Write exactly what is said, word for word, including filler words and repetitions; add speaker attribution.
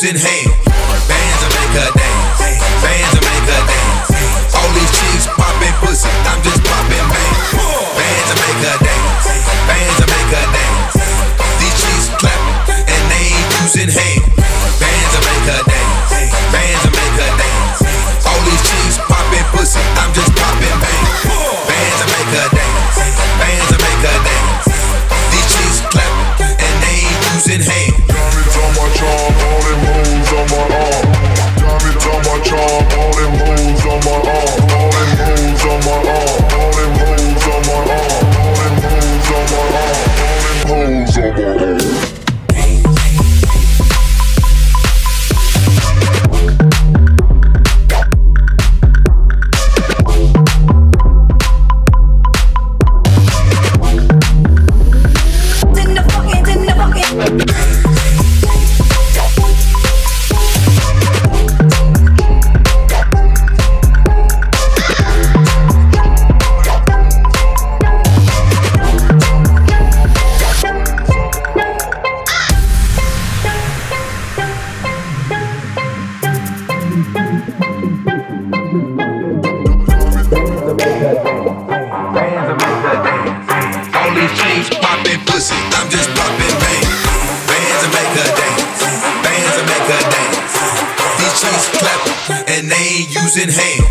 Speaker 1: using hands. Bands to make her dance. Bands to make her dance. All these chicks popping pussy, I'm just popping bands. Bands to make her dance. Bands to make her dance. These chicks clapping and they ain't using hands. Bands to make her dance. Bands to make her dance. All these chicks popping pussy, I'm just popping bands. Bands to make her dance. Bands to make her dance. These chicks clapping and they ain't using hands.
Speaker 2: Diamonds on my charm, all them hoes on my arm. Diamonds on my charm, all them hoes on my arm. All them hoes on my arm. All them hoes on my arm. All them hoes on my arm. All them hoes on my arm.
Speaker 1: Using hands.